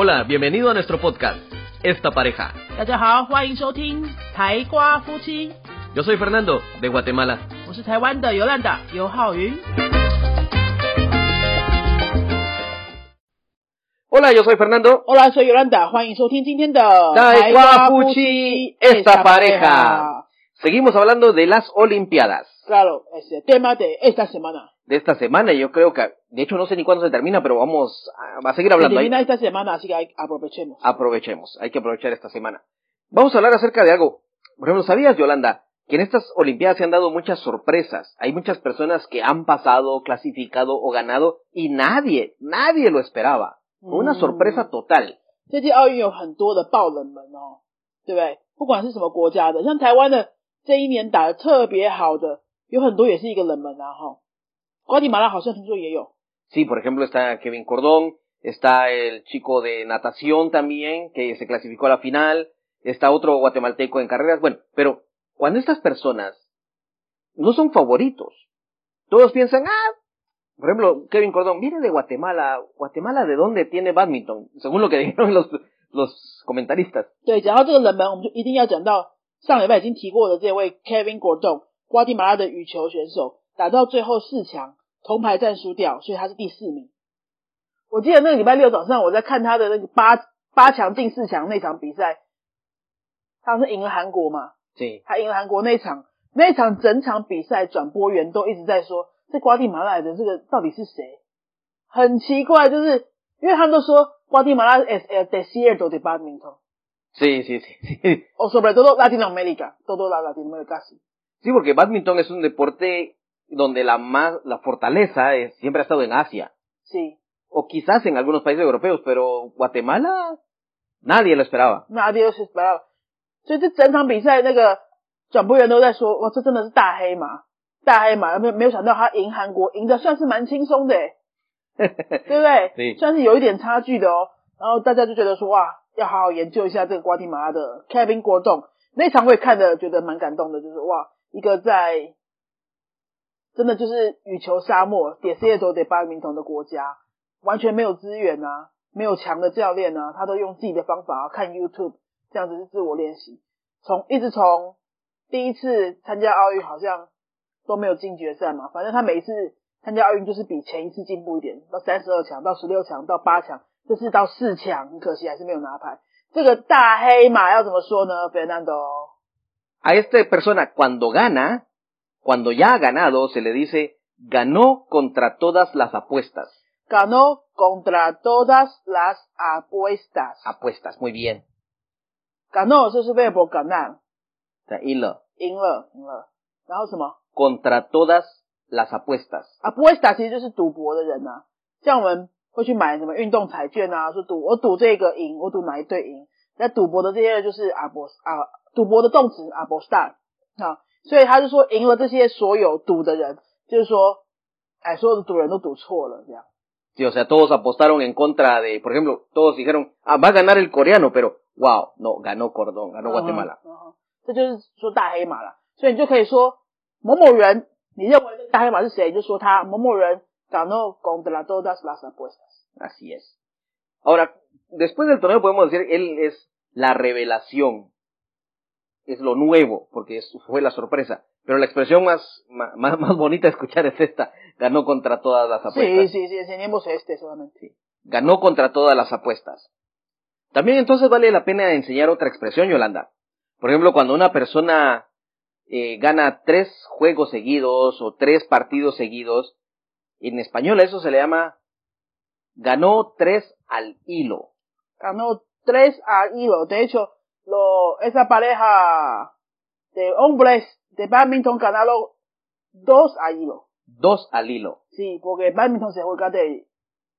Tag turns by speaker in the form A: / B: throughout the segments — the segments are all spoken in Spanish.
A: Hola, bienvenido a nuestro podcast, Esta Pareja.
B: 大家好，欢迎收听台瓜夫妻。
A: Yo soy Fernando, de Guatemala.
B: 我是台湾的尤兰达尤浩云。
A: Hola, yo soy Fernando.
B: Hola， soy Yolanda， 欢迎收听今天的
A: 台瓜夫妻 Esta Pareja. Seguimos hablando de las Olimpiadas.
B: Claro, es el tema de esta semana.
A: De esta semana, yo creo que, de hecho no sé ni cuándo se termina, pero vamos a seguir hablando.
B: Se termina esta semana, así que aprovechemos.
A: Aprovechemos, hay que aprovechar esta semana. Vamos a hablar acerca de algo. Por ejemplo, ¿sabías, Yolanda, que en estas Olimpiadas se han dado muchas sorpresas? Hay muchas personas que han pasado, clasificado o ganado y nadie lo esperaba. Fue una sorpresa total.
B: 这届奥运有很多的爆冷门哦，对不对？不管是什么国家的，像台湾的这一年打得特别好的，有很多也是一个冷门啊哈。瓜地马拉好像听说也有。
A: Sí, por ejemplo, está Kevin Cordón, está el chico de natación también, que se clasificó a la final, está otro guatemalteco en carreras. Bueno, pero cuando estas personas no son favoritos, todos piensan, por ejemplo, Kevin Cordón viene de Guatemala. ¿Guatemala de dónde tiene badminton? Según lo que dijeron los comentaristas.
B: 对，讲到这个冷门，我们就一定要讲到上礼拜已经提过的这位 Kevin Cordón， 瓜地马拉的羽球选手，打到最后4强，铜牌战输掉，所以他是第4名。我记得那个礼拜六早上我在看他的那个八强进4强那场比赛，他是赢了韩国嘛？
A: 对，
B: 他赢了韩国那一场整场比赛转播员都一直在说，这瓜地马拉来的这个到底是谁？很奇怪，就是因为他们都说瓜地马拉es el desierto de badminton。
A: Sí, sí, sí.
B: O sobre todo Latinoamérica, todo Latinoamérica sí.
A: Sí, porque badminton es un deporte donde la fortaleza siempre ha estado en Asia.
B: Sí.
A: O quizás en algunos países europeos, pero Guatemala nadie lo esperaba.
B: Nadie lo esperaba. 所以这整场比赛那个转播员都在说，哇，这真的是大黑马，没有想到他赢韩国，赢的算是蛮轻松的耶，对不对？
A: 对，
B: 算是有一点差距的哦。然后大家就觉得说，哇，要好好研究一下这个瓜地马拉的 Kevin Cordón。那场我也看的觉得蛮感动的，就是哇，一个在真的就是羽球沙漠 desierto de badminton 的国家，完全没有资源啊，没有强的教练啊，他都用自己的方法看 YouTube， 这样子是自我练习，一直从第一次参加奥运好像都没有进决赛嘛，反正他每一次参加奥运就是比前一次进步一点，到32强，到16强，到8强，这次到4强，很可惜还是没有拿牌。这个大黑马要怎么说呢 Fernando?
A: A esta persona cuando ya ha ganado, se le dice ganó contra todas las apuestas.
B: Ganó contra todas las apuestas.
A: Apuestas, muy bien.
B: Ganó 就是 verbo ganar. 赢了。然后什么
A: ？Contra todas las apuestas.
B: Apuesta 其实就是赌博的人啊，像我们会去买什么运动彩券啊，说我赌这个赢，我赌哪一队赢。那赌博的这些人就是赌博的动词 apostar 啊，所以他就说赢了这些所有赌的人，就是说，所有的赌人都赌错了这样。
A: Sí, o sea, todos apostaron en contra de, por ejemplo, todos dijeron, va a ganar el coreano, pero wow, no, ganó Cordón, ganó Guatemala.
B: 这就是说大黑马了，所以你就可以说某某人，你认为这大黑马是谁，你就说他某某人 ganó contra todas las apuestas.
A: Así es. Ahora, después del torneo podemos decir, él es la revelación, es lo nuevo, porque fue la sorpresa. Pero la expresión más bonita de escuchar es esta, ganó contra todas las apuestas.
B: Sí, enseñemos solamente.
A: Sí. Ganó contra todas las apuestas. También entonces vale la pena enseñar otra expresión, Yolanda. Por ejemplo, cuando una persona gana 3 juegos seguidos o 3 partidos seguidos, en español eso se le llama ganó 3 al hilo.
B: Ganó 3 al hilo. De hecho, esa pareja de hombres de badminton ganaron 2 al hilo.
A: 2 al hilo.
B: Sí, porque badminton se juega de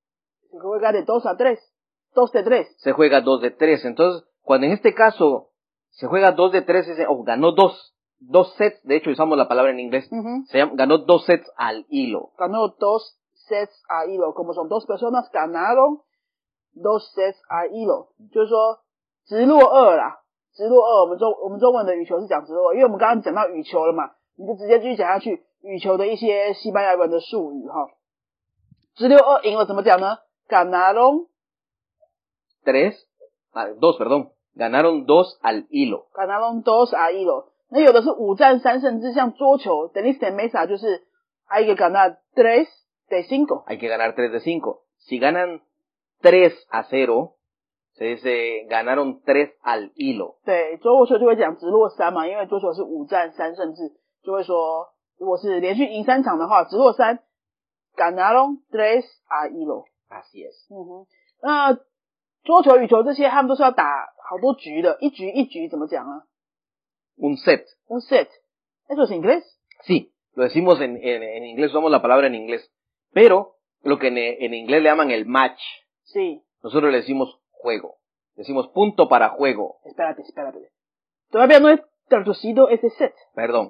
B: 2 a 3. 2 de 3.
A: Se juega 2 de 3. Entonces, cuando en este caso se juega 2 de 3, ganó 2 sets. De hecho, usamos la palabra en inglés. Ganó 2 sets al hilo.
B: Ganó 2 sets al hilo. Como son 2 personas, ganaron 2 sets al hilo. 就是说直落2啦，直落2，我们中文的羽球是讲直落2，因为我们刚刚讲到羽球了嘛，你就直接继续讲下去羽球的一些西班牙文的术语哈。直溜2赢了怎么讲呢？ganaron
A: Ganaron 2 al hilo.
B: Ganaron 2 al hilo。那有的是5战3胜制，像桌球 tenis de mesa 就是hay que ganar 3 de 5。
A: Hay que ganar 3 de 5. Si ganan 3-0, se dice ganaron 3 al hilo。
B: 对，桌球就会讲直落3嘛，因为桌球是5战3胜制，就会说如果是连续赢3场的话，直落3 ganaron 3 al hilo。Así
A: es。
B: 那桌球、羽球这些他们都是要打好多局的，一局一局怎么讲啊？
A: Un set.
B: Un set. ¿Eso es inglés?
A: Sí, lo decimos en inglés, usamos la palabra en inglés. Pero lo que en inglés le llaman el match.
B: Sí.
A: Nosotros le decimos juego. Decimos punto para juego.
B: Espérate. Todavía no he traducido ese set.
A: Perdón.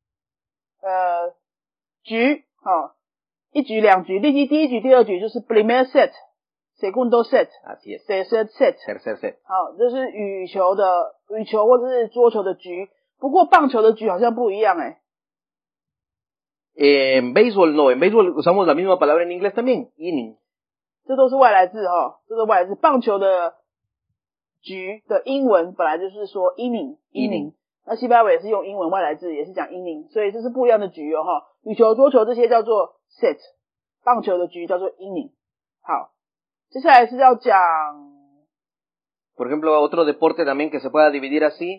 B: 局，一局两局，第一局第二局就是 primer set。Segundo set.
A: Así es.
B: Tercer set.
A: Tercer set.
B: 好，这是羽球或者是桌球的局，不过棒球的局好像不一样
A: En béisbol no, en béisbol usamos la misma palabra en inglés también, inning.
B: 这都是外来字这是外来字。棒球的局的英文本来就是说 inning。那西班牙文也是用英文外来字，也是讲 inning， 所以这是不一样的局羽球、桌球这些叫做 set， 棒球的局叫做 inning。好。接下来是要讲
A: Por ejemplo, otro deporte también que se pueda dividir así,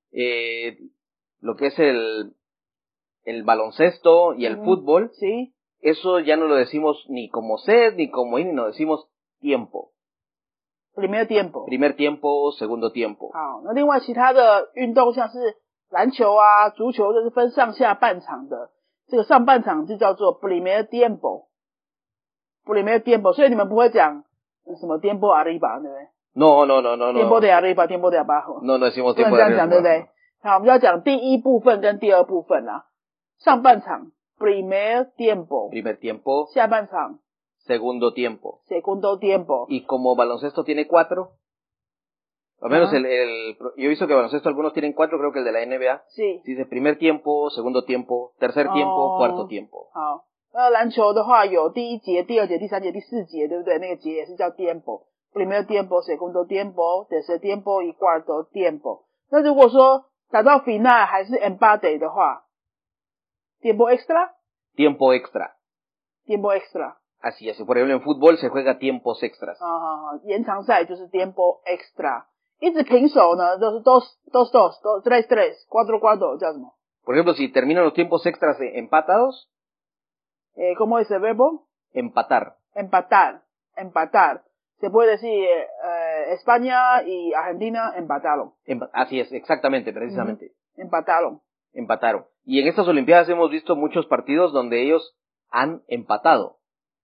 A: lo que es el baloncesto y el fútbol,
B: ¿sí?
A: Eso ya no lo decimos ni como set ni como inning, no decimos tiempo.
B: Primer
A: tiempo, segundo tiempo.
B: 好，那另外其他的运动像是篮球啊、足球，这是分上下半场的，这个上半场就叫做 primer tiempo。primer tiempo， 所以你们不会讲什么 tiempo arriba， 对不对？
A: No.
B: tiempo de arriba, tiempo de abajo。
A: No decimos tiempo de arriba。
B: 不能这样讲，对不对？好，我们要讲第一部分跟第二部分啦。上半场 primer tiempo， 下半场
A: segundo tiempo。
B: segundo tiempo。
A: Y como baloncesto tiene 4, al menos yo he visto que baloncesto algunos tienen 4, creo que el de la NBA.
B: Sí.
A: Dice primer tiempo, segundo tiempo, tercer tiempo, cuarto tiempo。
B: 好。篮球的话有第一节、第二节、第三节、第四节，对不对？那个节也是叫 tiempo。Primer tiempo, segundo tiempo, tercer tiempo y cuarto tiempo。 那如果说打到 final 还是 empate 的话 ，tiempo extra。
A: Tiempo extra。
B: Tiempo extra。
A: Así es. Por ejemplo, en fútbol se juega tiempos extras。
B: 延长赛就是 tiempo extra。 一直平手呢，都是 dos, tres, cuatro 叫什么？
A: Por ejemplo, si terminan los tiempos extras empatados.
B: ¿Cómo es el verbo?
A: Empatar.
B: Se puede decir España y Argentina empataron.
A: Así es, exactamente, precisamente.
B: Empataron.
A: Y en estas Olimpiadas hemos visto muchos partidos donde ellos han empatado.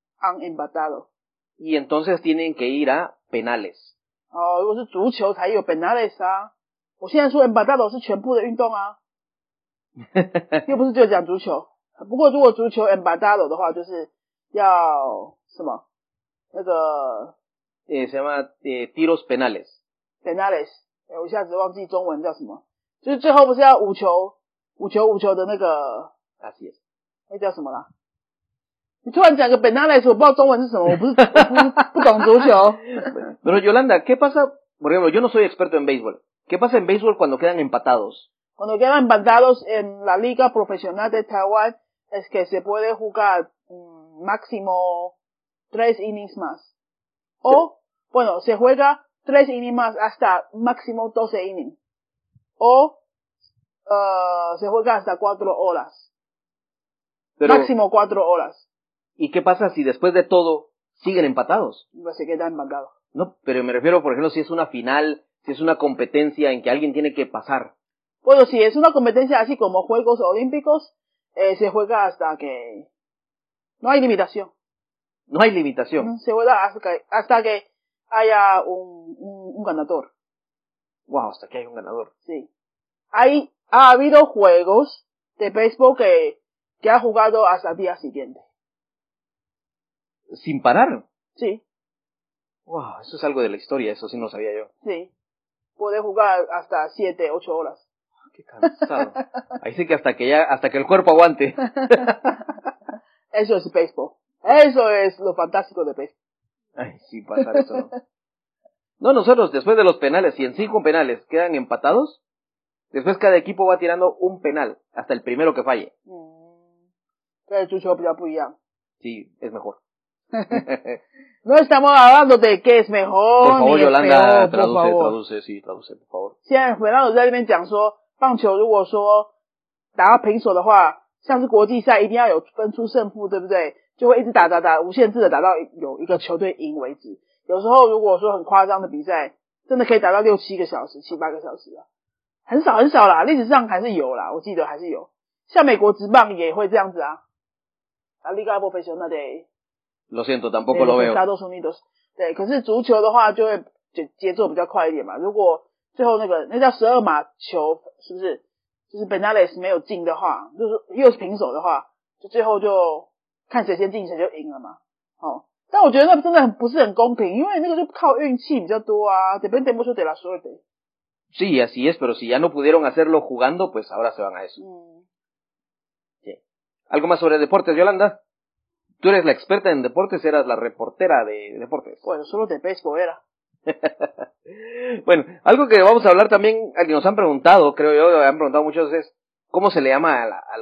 A: Y entonces tienen que ir a penales.
B: 如果是足球才有 penales 啊。我现在说 empatado 是全部的运动啊，又不是就讲足球。不过如果足球 empatado 的话，就是要什么？那个
A: se llama tiros penales。
B: 我一下子忘记中文叫什么，就是最后不是要五球的那个
A: Así es。
B: 那叫什么啦？你突然讲个 penales， 我不知道中文是什么，我不懂足球。
A: Pero Yolanda, ¿qué pasa? Por ejemplo, yo no soy experto en béisbol. ¿Qué pasa en béisbol cuando quedan empatados?
B: Cuando quedan empatados en la Liga Profesional de Taiwán es que se puede jugar máximo 3 innings más. O, bueno, se juega 3 innings más hasta máximo 12 innings. O se juega hasta 4 horas. Pero, máximo 4 horas.
A: ¿Y qué pasa si después de todo siguen empatados?
B: Pues se quedan empatados.
A: No, pero me refiero, por ejemplo, si es una final, si es una competencia en que alguien tiene que pasar.
B: Bueno, si es una competencia así como Juegos Olímpicos, se juega hasta que no hay limitación.
A: No hay limitación.
B: Se juega hasta que haya un ganador.
A: Wow, hasta que haya un ganador.
B: Sí. Ha habido juegos de béisbol que ha jugado hasta el día siguiente.
A: ¿Sin parar?
B: Sí.
A: Wow, eso es algo de la historia, eso sí no sabía yo.
B: Sí. Puede jugar hasta 7, 8 horas.
A: Qué cansado. Ahí sí que hasta que el cuerpo aguante.
B: Eso es béisbol. Eso es lo fantástico de béisbol.
A: Ay, sí, pasar eso, ¿no? No, nosotros, después de los penales, si en 5 penales quedan empatados, después cada equipo va tirando un penal, hasta el primero que falle.
B: 对，足球比较不一样。
A: Sí, es mejor.
B: No estamos hablando de qué es mejor,
A: Por favor,
B: ni es
A: Yolanda,
B: peor, por favor.
A: traduce, por favor.
B: 现在Fernando在那边讲说，棒球如果说打到平手的话，像是国际赛一定要有分出胜负，对不对？就会一直打，无限制的打到有一个球队赢为止。有时候如果说很夸张的比赛，真的可以打到6、7个小时、7、8个小时啊，很少啦，历史上还是有啦，我记得还是有。像美国职棒也会这样子啊。La Liga Profesional de
A: Lo siento, tampoco lo veo.
B: Estados Unidos。对，可是足球的话就会节奏比较快一点嘛。如果最后那叫12码球，是不是？就是 Benales 没有进的话，就是又是平手的话，就最后就看谁先进谁就赢了嘛。哦，但我觉得那真的不是很公平，因为那个就靠运气比较多啊。Depende mucho de la suerte。
A: Sí, así es, pero si ya no pudieron hacerlo jugando, pues ahora se van a eso. Sí. ¿Algo más sobre deportes, Yolanda? Tú eres la experta en deportes, eras la reportera de deportes.
B: Bueno, solo de béisbol era.
A: Bueno, algo que vamos a hablar también, que nos han preguntado, creo yo, han preguntado muchas veces, ¿cómo se le llama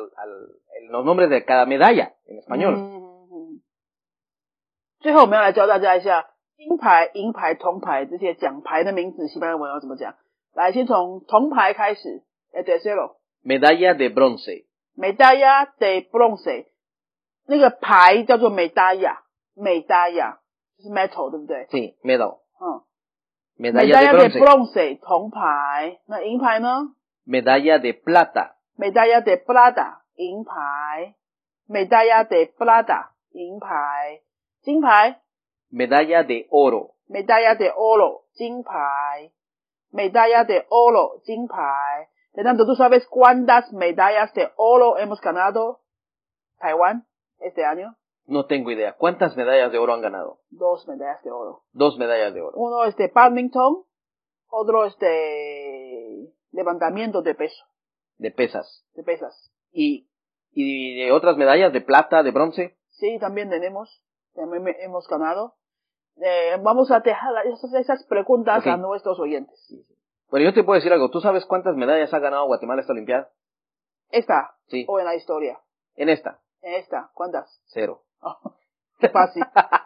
A: los nombres de cada medalla en español?
B: 最后我们要来教大家一下金牌、银牌、铜牌这些奖牌的名字，西班牙文要怎么讲？来，先从铜牌开始。tercero
A: Medalla de bronce。Medalla
B: de bronce， 那个牌叫做 medalla， 就是 metal， 对不对？
A: Sí, medal。
B: Medalla de bronce， 铜牌。那银牌呢
A: ？Medalla de plata。Medalla
B: de plata， 银牌。Medalla de plata， 银牌。金牌
A: Medalla de oro。Medalla
B: de oro， 金牌。Medalla de oro， 金牌。Fernando, ¿tú sabes cuántas medallas de oro hemos ganado Taiwán este año?
A: No tengo idea. ¿Cuántas medallas de oro han ganado?
B: 2 medallas de oro.
A: 2 medallas de oro.
B: Uno es de badminton, otro es de levantamiento de peso.
A: De pesas.
B: De pesas.
A: ¿Y de otras medallas de plata, de bronce?
B: Sí, también tenemos. También hemos ganado. Vamos a dejar esas preguntas a nuestros oyentes.
A: Pero yo te puedo decir algo. ¿Tú sabes cuántas medallas ha ganado Guatemala esta Olimpiada?
B: ¿Esta?
A: Sí.
B: ¿O en la historia?
A: En esta.
B: En esta. ¿Cuántas?
A: 0.
B: Oh, qué fácil.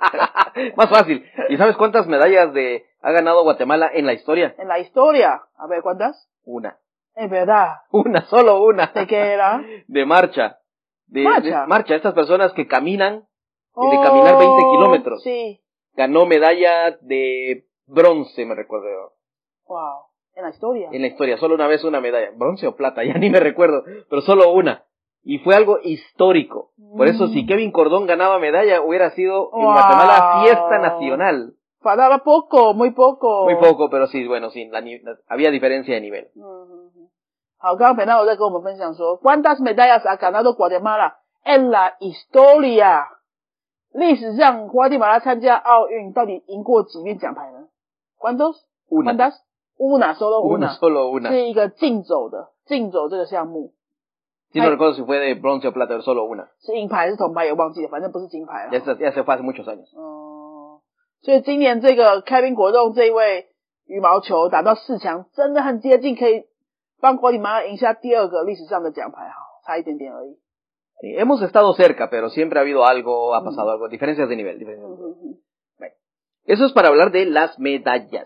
A: Más fácil. ¿Y sabes cuántas medallas ha ganado Guatemala en la historia?
B: En la historia. A ver, ¿cuántas?
A: 1.
B: Es verdad.
A: Solo una.
B: ¿De qué era?
A: De marcha.
B: ¿Marcha?
A: De marcha. Estas personas que caminan, de caminar 20 kilómetros.
B: Sí.
A: Ganó medalla de bronce, me recuerdo.
B: Wow. ¿En la historia?
A: En la historia, solo una vez una medalla. ¿Bronce o plata? Ya ni me recuerdo, pero solo una. Y fue algo histórico. Por eso, si Kevin Cordón ganaba medalla, hubiera sido en Guatemala fiesta nacional.
B: Faltaba poco, muy poco.
A: Muy poco, pero sí, bueno, sí, había diferencia de nivel.
B: 好，刚刚Fernando在跟我们分享说 ¿Cuántas medallas ha ganado Guatemala en la historia？ 历史上，瓜地马拉参加奥运到底赢过几面奖牌呢 ？¿Cuántos? ¿Cuántas? Una, solo una. 是一个竞走这个项目。
A: Sí, no recuerdo si fue de bronce o plata, pero solo una.
B: 是银牌还是铜牌也忘记了，反正不是金牌了。
A: Ya se fue hace muchos años.
B: 所以今年这个Kevin国栋这一位羽毛球打到4强，真的很接近，可以帮瓜地马拉赢下第2个历史上的奖牌，差一点点而已。
A: Hemos estado cerca, pero siempre ha habido algo, ha pasado algo, diferencias de nivel. Bueno, eso es para hablar de las medallas.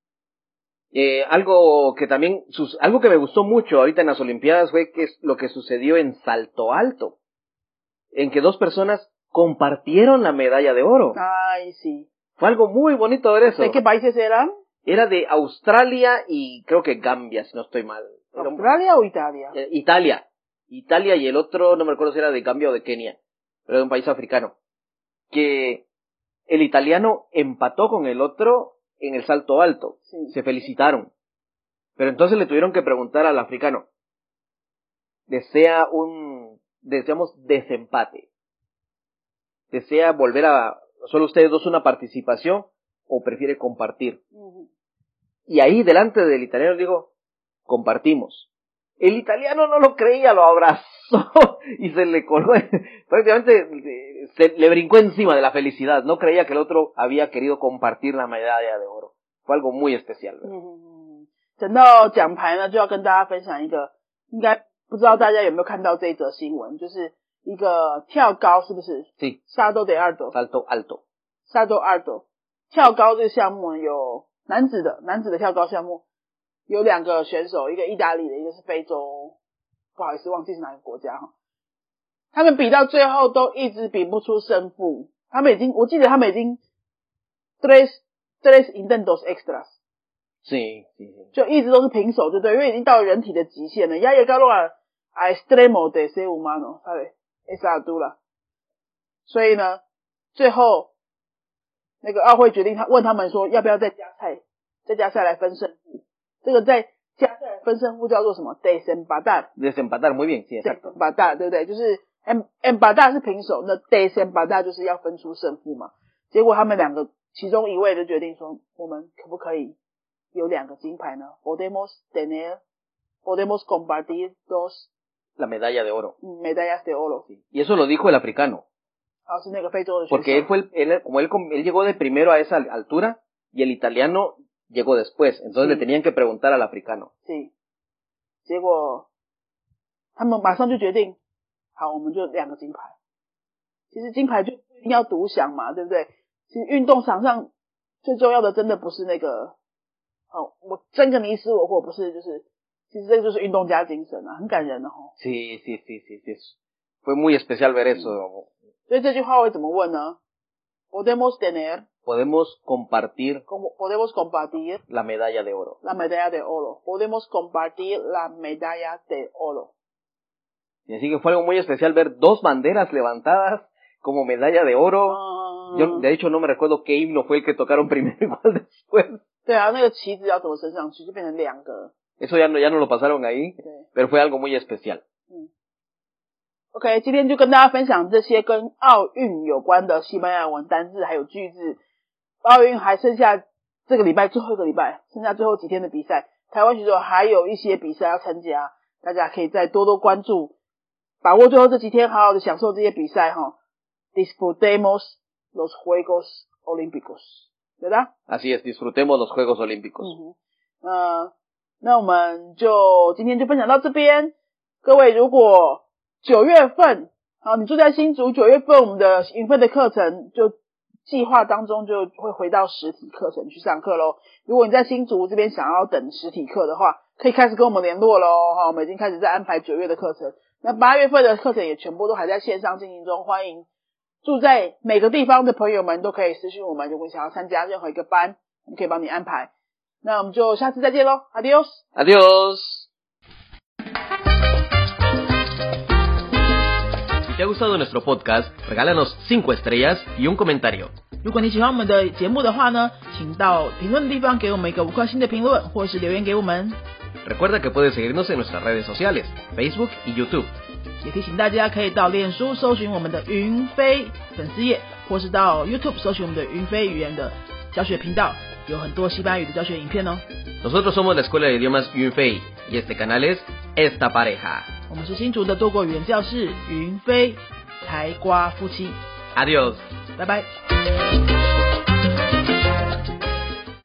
A: Algo que me gustó mucho ahorita en las Olimpiadas fue que es lo que sucedió en salto alto, en que 2 personas compartieron la medalla de oro.
B: Ay, sí.
A: Fue algo muy bonito ver eso.
B: ¿De qué países eran?
A: Era de Australia y creo que Gambia, si no estoy mal.
B: ¿Australia o Italia?
A: Italia y el otro, no me recuerdo si era de Gambia o de Kenia, pero de un país africano. Que el italiano empató con el otro en el salto alto.
B: Sí.
A: Se felicitaron. Pero entonces le tuvieron que preguntar al africano, deseamos desempate. ¿Desea volver solo ustedes dos una participación o prefiere compartir? Y ahí delante del italiano digo, compartimos. El italiano no lo creía, lo abrazó y se le colgó, prácticamente le brincó encima de la felicidad, no creía que el otro había querido compartir la medalla de oro. fue algo muy especial, ¿verdad?
B: 讲到奖牌呢，就要跟大家分享一个，应该不知道大家有没有看到这一则新闻，就是一个跳高，是不是？
A: Sí.
B: Salto de alto.
A: Salto alto.
B: Salto alto. 跳高这个项目有男子的跳高项目有2个选手，一个意大利的，一个是非洲，不好意思忘记是哪个国家哈。他们比到最后都一直比不出胜负，我记得他们已经 tres intentos extras。
A: Sí.
B: 就一直都是平手，对不对？因为已经到了人体的极限了。Ya llegaron a extremo de ser humano, ¿sabes? Esa altura. 所以呢，最后那个奥会决定问他们说，要不要再加赛来分胜负。这个在加赛来分胜负叫做什么 ？Desempatar.
A: Desempatar, muy bien, sí, exacto.
B: Desempatar, 对不对？就是 empatar 是平手，那 desempatar 就是要分出胜负嘛。结果他们2个其中一位就决定说，我们可不可以有2个金牌呢 ？Podemos compartir dos
A: la medalla de oro.
B: Medallas de oro.
A: Sí. Y eso lo dijo el africano.
B: 是那个非洲的选手。
A: Porque él llegó de primero a esa altura y el italiano llegó después. Entonces le tenían que preguntar al africano.
B: Sí. 结果他们马上就决定，好，我们就2个金牌。其实金牌就一定要独享嘛，对不对？其实运动场上最重要的真的不是那个我争个你死我活，不是，就是其实这个就是运动家精神啊，很感人的齁。
A: Sí. Fue muy especial ver eso.
B: 所以这句话会怎么问呢？ Podemos compartir
A: la medalla de oro.
B: La medalla de oro. Podemos compartir la medalla de oro.
A: Y así que fue algo muy especial ver 2 banderas levantadas como medalla de oro. Yo de hecho no me recuerdo qué himno fue el que tocaron primero y cuál después.
B: 对啊，那个旗子要怎么升上去，就变成2个。
A: Eso ya no lo pasaron ahí, pero fue algo muy especial.
B: OK， 今天就跟大家分享这些跟奥运有关的西班牙文单字还有句子。奥运还剩下这个礼拜最后一个礼拜，剩下最后几天的比赛，台湾选手还有一些比赛要参加，大家可以再多多关注，把握最后这几天，好好的享受这些比赛哈。Disfrutemos los Juegos Olímpicos， 对吧？
A: Así es, disfrutemos los Juegos Olímpicos。
B: 那我们就今天就分享到这边。各位，如果9月份，好，你住在新竹，9月份我们的云飞的课程就计划当中就会回到实体课程去上课咯。如果你在新竹这边想要等实体课的话，可以开始跟我们联络咯。我们已经开始在安排9月的课程，那8月份的课程也全部都还在线上进行中，欢迎住在每个地方的朋友们都可以私讯我们，如果你想要参加任何一个班，我们可以帮你安排。那我们就下次再见咯 ，Adios。
A: Si te ha gustado nuestro podcast, regálanos 5 estrellas y un comentario.
B: 如果你喜欢我们的节目的话呢，请到评论的地方给我们一个5颗星的评论，或是留言给我们。
A: Recuerda que puedes seguirnos en nuestras redes sociales, Facebook y YouTube.
B: 也提醒大家可以到脸书搜寻我们的云飞粉丝页，或是到 YouTube 搜寻我们的云飞语言的教学频道，有很多西班牙语的教学影片哦。
A: Nosotros somos la Escuela de Idiomas Yunfei y este canal es Esta Pareja.
B: 我们是新竹的多国语言教室云飞才瓜夫妻。
A: Adiós.
B: 拜拜。